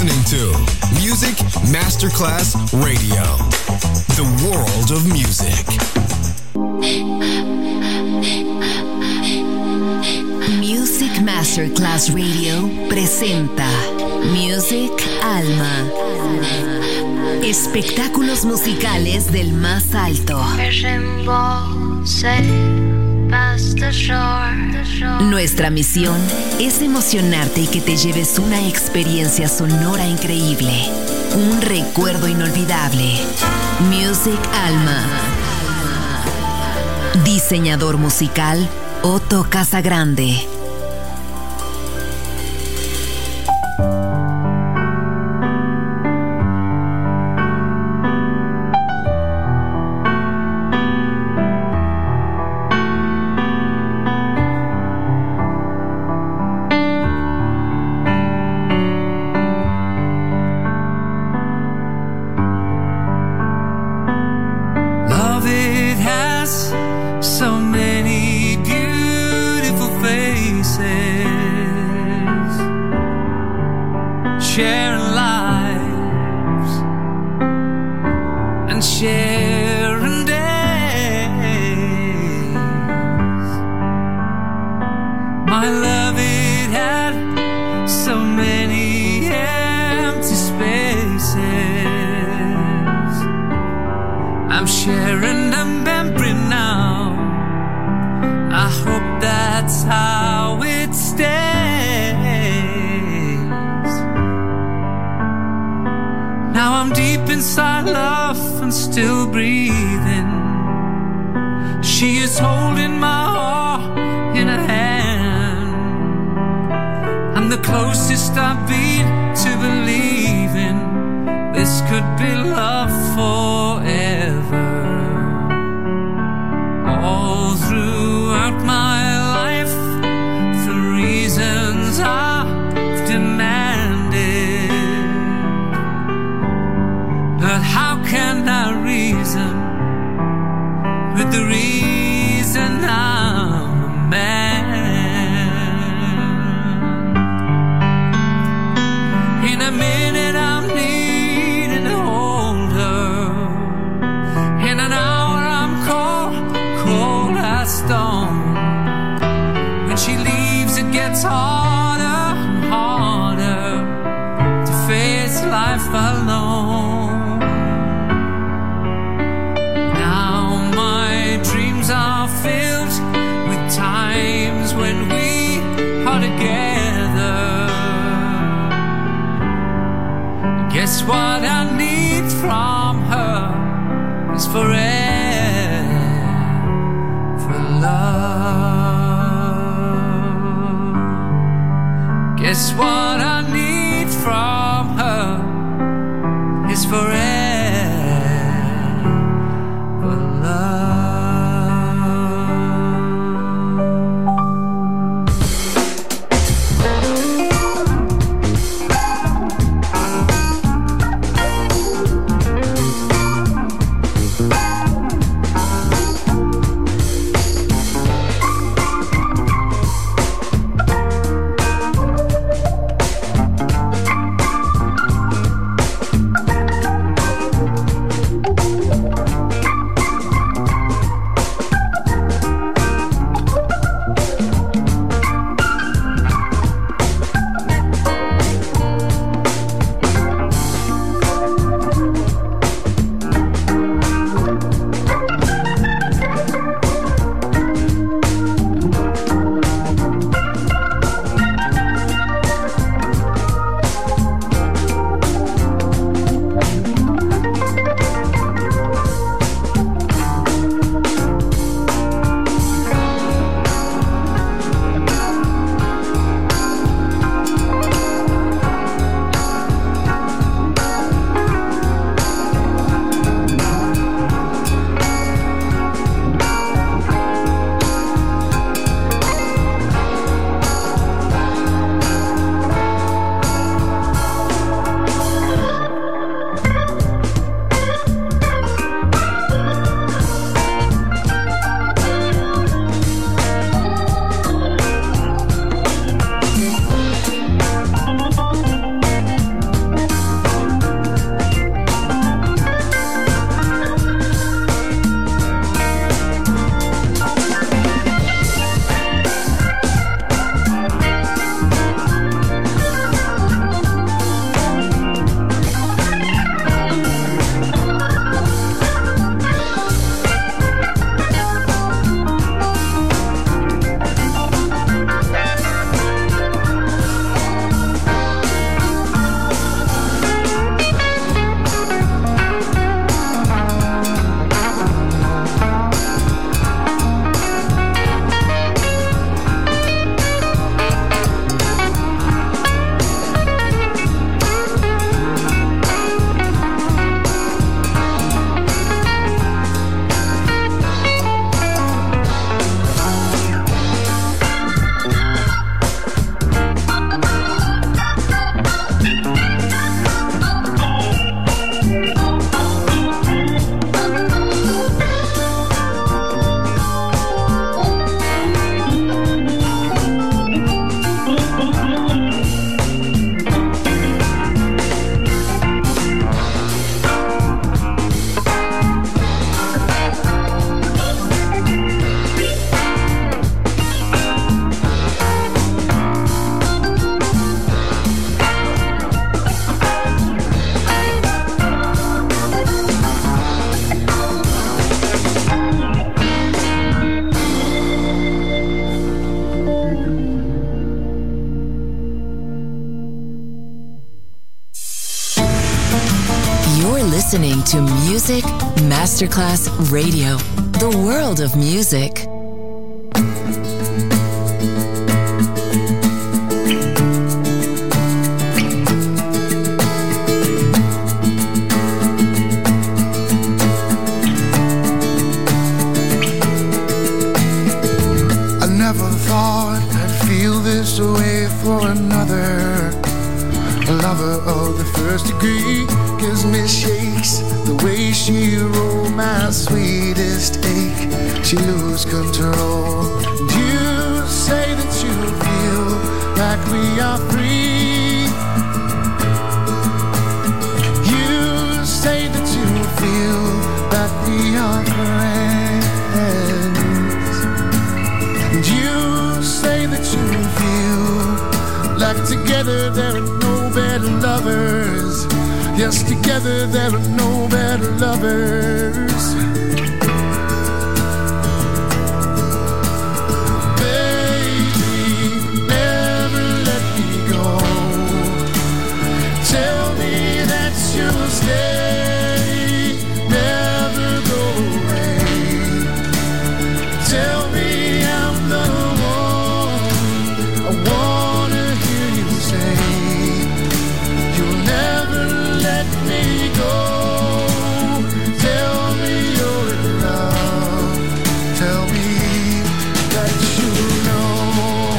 listening to Music Masterclass Radio, the world of music. Music Masterclass Radio presenta Music Alma. Espectáculos musicales del más alto. Nuestra misión es emocionarte y que te lleves una experiencia sonora increíble, un recuerdo inolvidable. Music Alma. Diseñador musical Otto Casagrande. listening to Music Masterclass Radio, the world of music. I never thought I'd feel this way for another. A lover of the first degree gives me shakes. The way she rolled my sweetest ache, she lose control. You say that you feel like we are free. You say that you feel like we are friends. And you say that you feel like together there are no better lovers. Yes, together there are no better lovers. Baby, never let me go. Tell me that you'll stay, never go away. Tell me I'm the one. I wanna hear you say you'll never let me go. Tell me you're in love. Tell me that you know.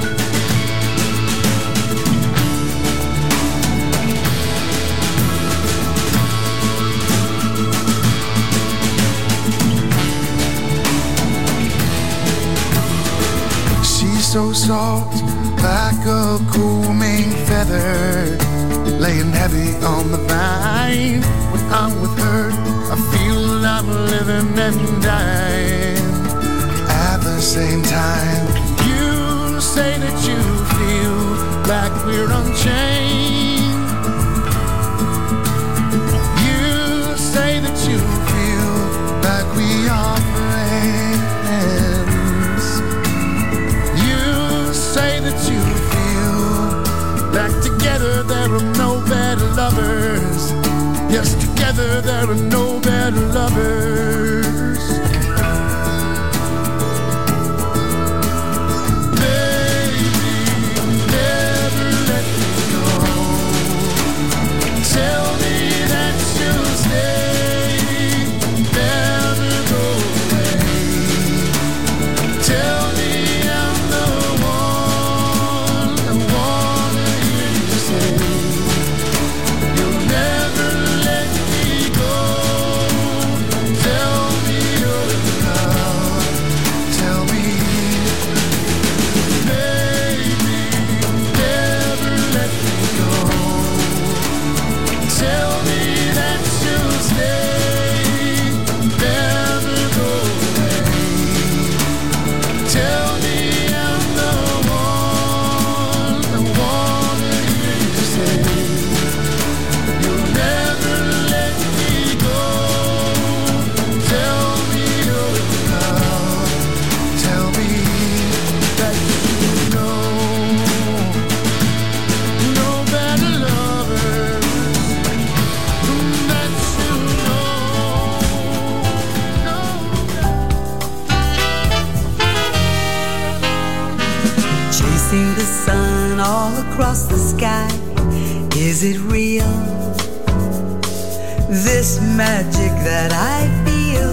She's so soft, like a cool Maine feather, laying heavy on the vine. When I'm with her, I feel I'm living and dying at the same time. You say that you feel like we're unchained. You say that you feel like we are friends. You say that you feel like together there are no better lovers. Yes, together there are no better lovers. Baby, never let me go. Tell me that you'll stay, never go away. Tell me I'm the one. I wanna hear you say you'll never let me go. Tell me you're in love. Tell me, baby, never let me go. Tell me that you'll stay, never go away. Tell me I'm the one. I wanna hear you say you'll never let me go. Tell me you're in love. Tell me that you know. No better lovers. That you know. No. Chasing the sun all across the sky. Is it real? This magic that I feel.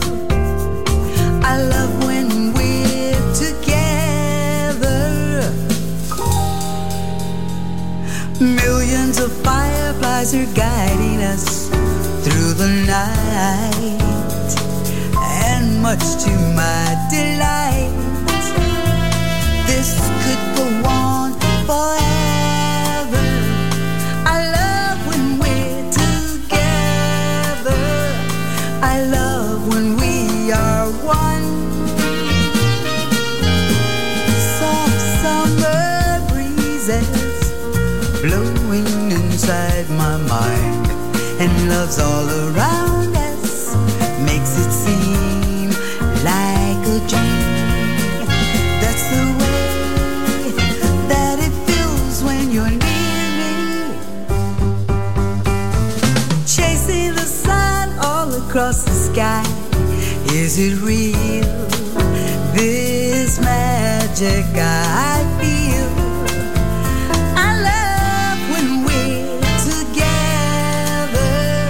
I love when we're together. Millions of fireflies are guiding us through the night, and much to my delight, this could go on forever. I love when we're together. I love when we are one. Soft summer breezes blowing inside my mind, and love's all around us, makes it seem like a dream. That's the way that it feels when you're near me. Chasing the across the sky. Is it real? This magic I feel. I love when we're together.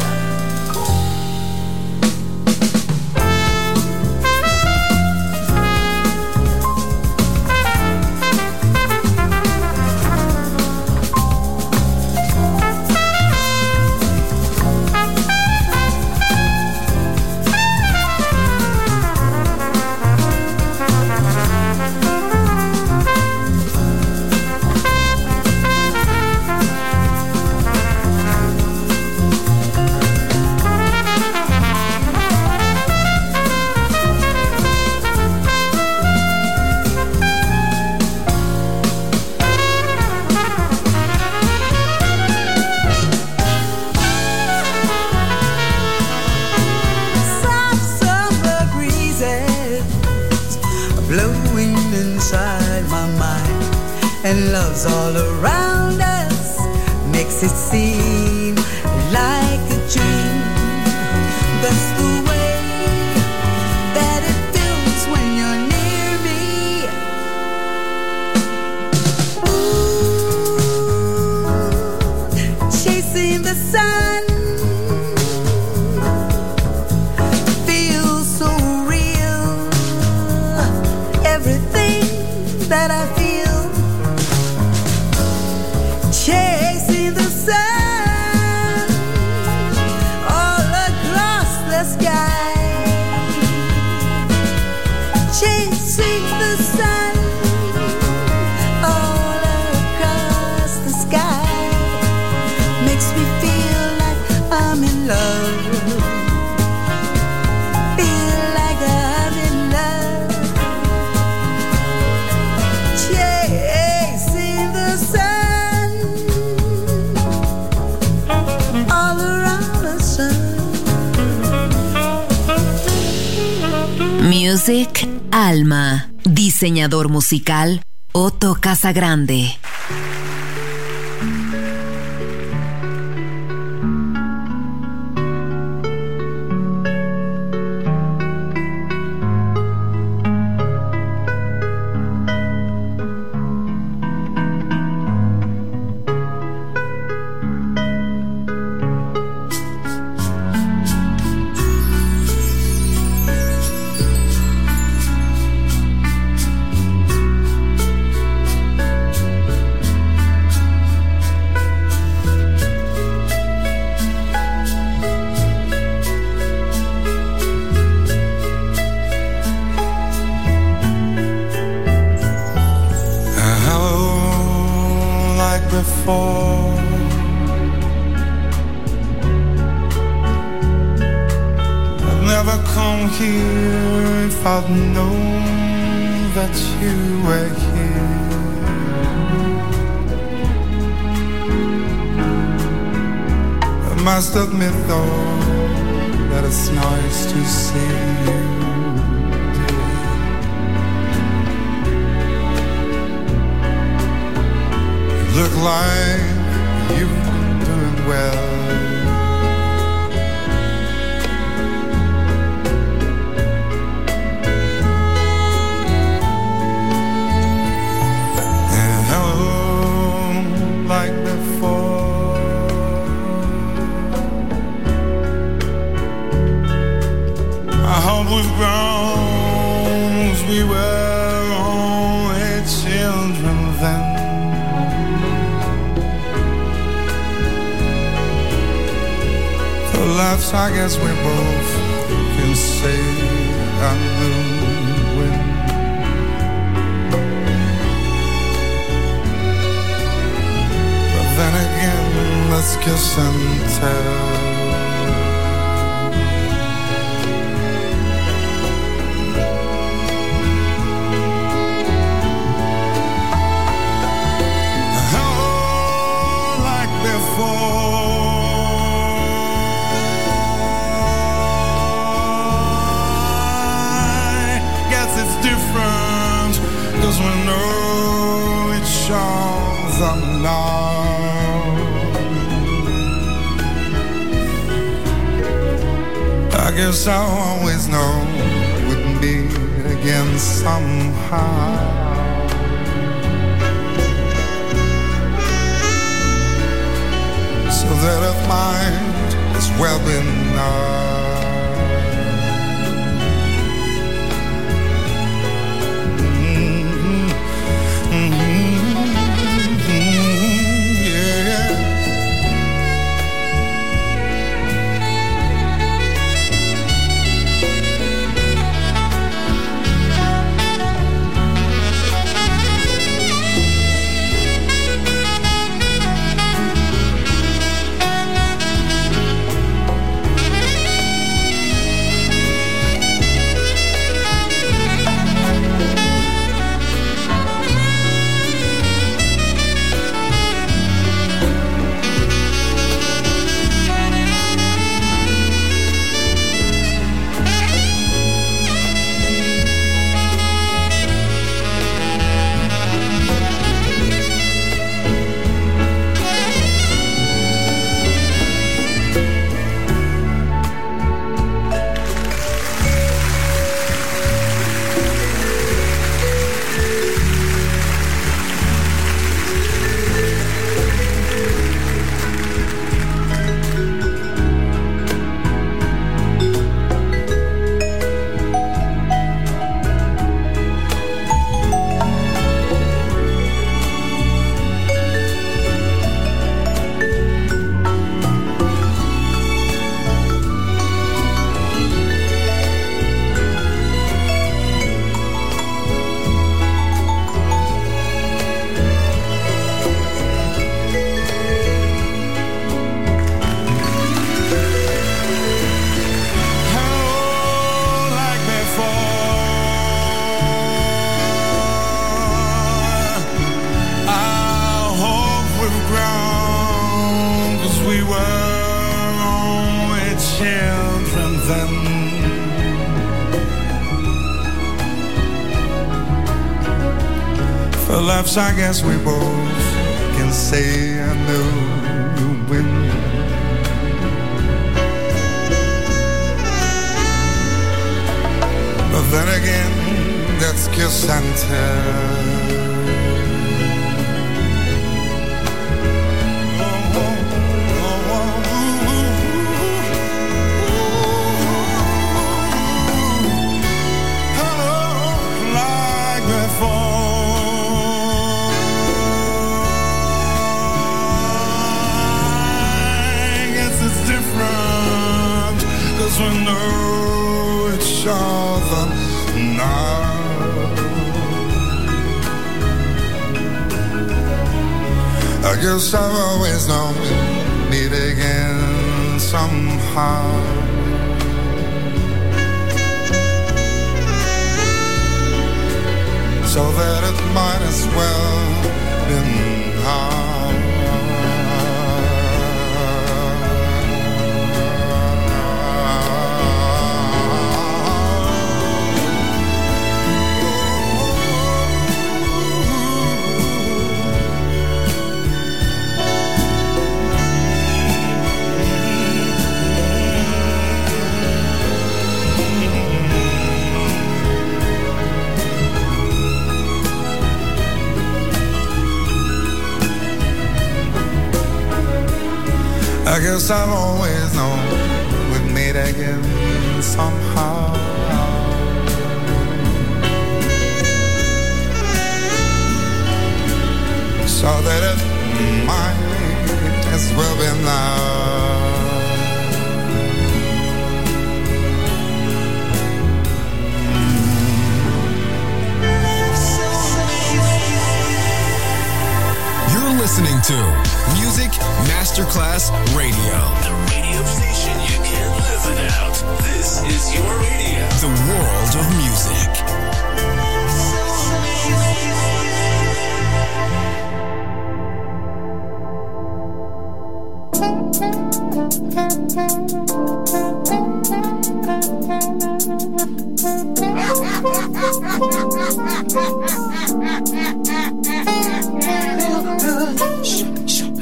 And love's all around us, makes it seem like a dream. That's the way that it feels when you're near me. Ooh, chasing the sun feels so real. Everything that I feel. Chasing the sun all across the sky. Chasing the sun all across the sky makes me feel like I'm in love. Feel like I'm in love. Chasing the sun. Music Alma. Diseñador musical Otto Casagrande. Must admit though that it's nice to see you. You look like you've been doing well. And hello, like before. I hope we've grown as we were only children then. For laughs, I guess we both can say I knew when. But then again, let's kiss and tell. Cause we know each other now. guess I'll always know we'd meet again somehow. So that it might as well be now. I guess we both can say I knew you win. But then again, that's kiss and tell. We know each other now. I guess I've always known we'd meet again somehow. So that it might as well be now. I guess I've always known we'd meet again somehow. So that it might as well be now. Listening to Music Masterclass Radio. The radio station you can't live without. This is your radio. The world of music.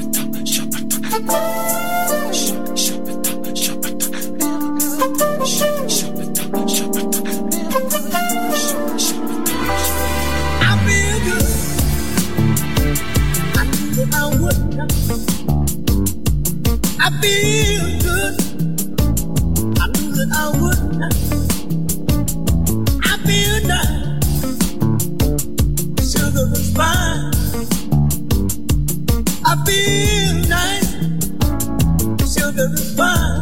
Shop feel good. I knew that I would. I feel nice. Sugar is fine. I feel nice. Sugar is fine.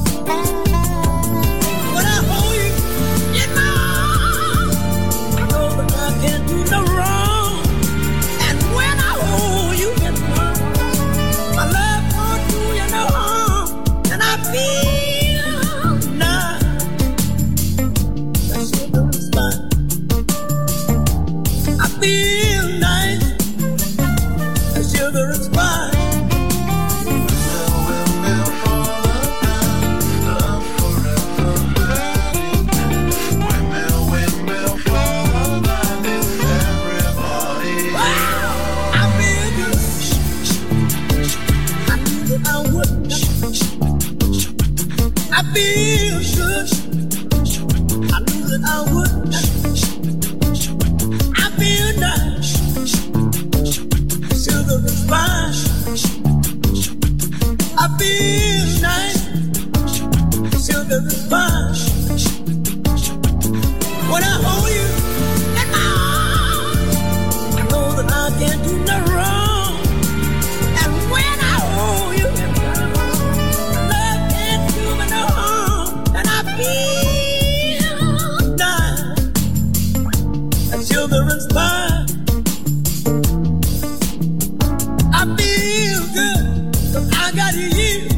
When I hold you in my arms, I know that I can't do no wrong. And when I hold you in my arms, my love won't do you no harm. And I feel nice. That sugar is fine. I feel nice. That sugar is fine. I feel good. I knew that I would. I feel nice. Sugar is fine. I feel nice. Sugar is fine. When I hold you in my arms, I know that I can't do no wrong. And when I hold you in my arms, feel nice. That sugar is fine. I feel good. I got you.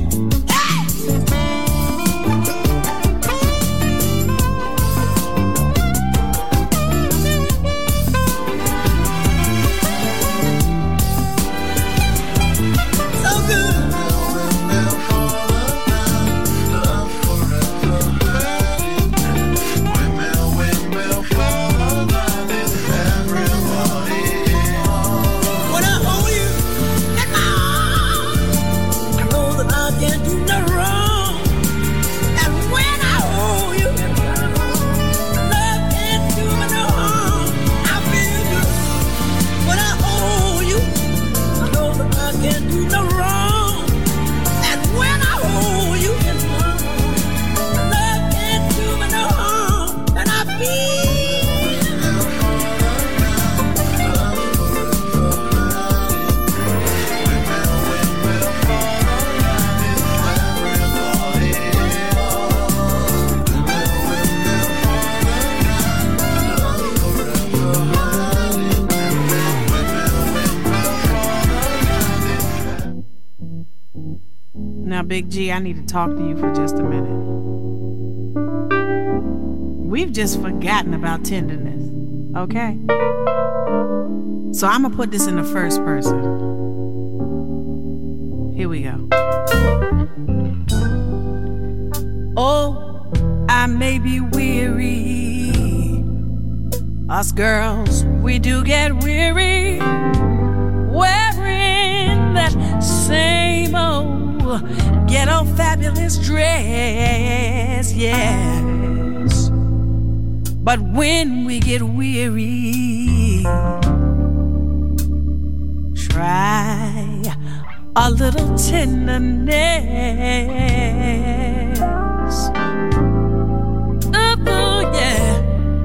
Big G, I need to talk to you for just a minute. We've just forgotten about tenderness, okay? So I'm gonna put this in the first person. Here we go. Oh, I may be weary. Us girls, we do get weary wearing that same old ghetto fabulous dress, yes. But when we get weary, try a little tenderness. Oh, yeah.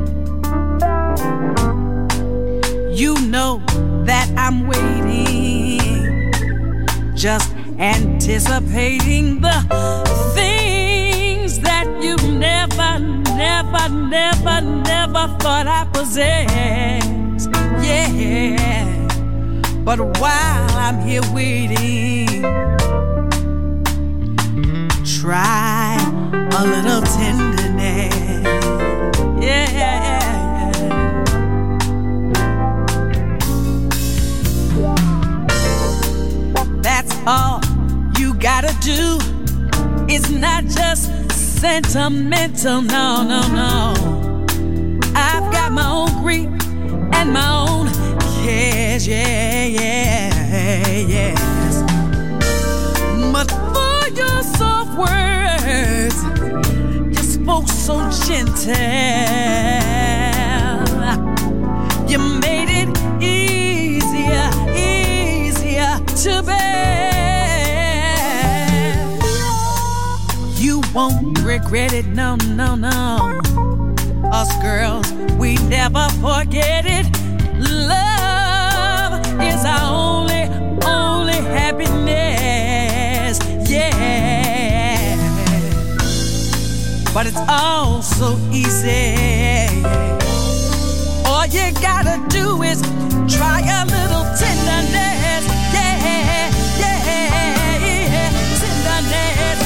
You know that I'm waiting, just anticipating the things that you never thought I possessed. Yeah, but while I'm here waiting, try a little tenderness. Yeah. That's all you gotta do. It's not just sentimental, no, no, no. I've got my own grief and my own cares, yeah, yeah, yes. But for your soft words, you spoke so gentle. You made it easier to bear. won't regret it, no, no, no. Us girls, we never forget it. Love is our only happiness, yeah. But it's all so easy. All you gotta do is try a little tenderness, yeah, yeah, yeah. Tenderness,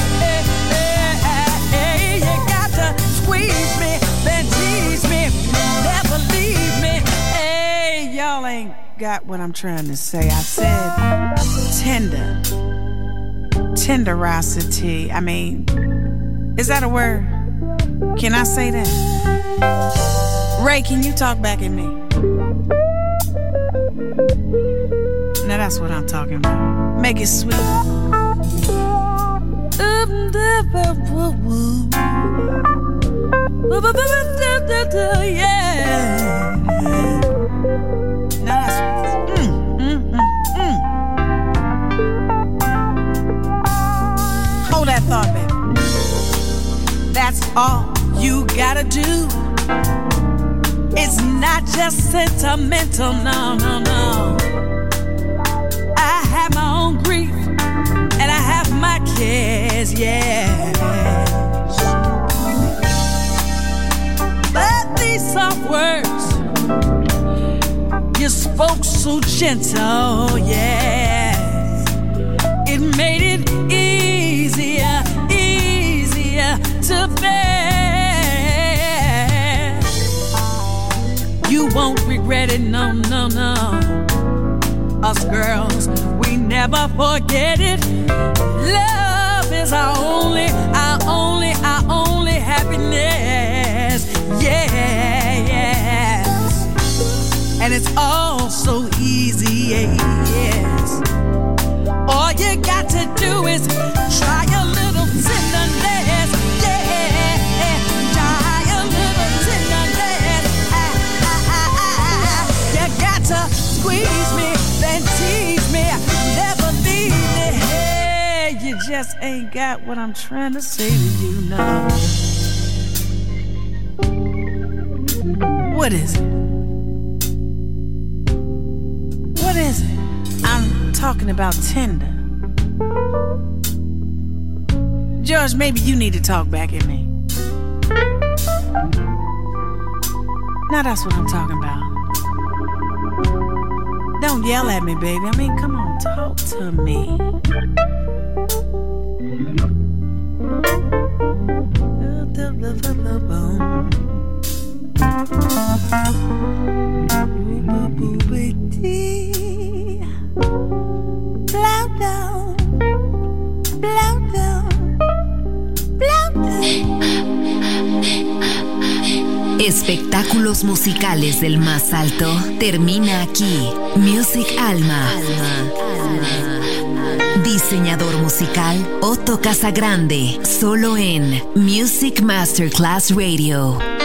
you got to squeeze me, then tease me, never leave me. Hey, y'all ain't got what I'm trying to say. I said tenderosity. I mean, is that a word? Can I say that? Ray, can you talk back at me? Now that's what I'm talking about. Make it sweet. Yeah. Now that's Hold that thought, baby. That's all you gotta do. It's not just sentimental, no, no, no. I have my own grief and I have my cares, yeah. But these soft words you spoke so gentle, yeah. It made it easier to bear. You won't regret it, no, no, no. Us girls, we never forget it. Love is our only happiness, yeah, yes. And it's all so easy, yes. All you got to do is try a little tenderness, yeah. Try a little tenderness. You got to squeeze me, then tease me, never leave me. Hey, you just ain't got what I'm trying to say to you now. What is it? What is it? I'm talking about tender. George, maybe you need to talk back at me. Now that's what I'm talking about. Don't yell at me, baby. I mean, come on, talk to me. Espectáculos musicales del más alto termina aquí. Music Alma. Diseñador musical Otto Casagrande, solo en Music Masterclass Radio.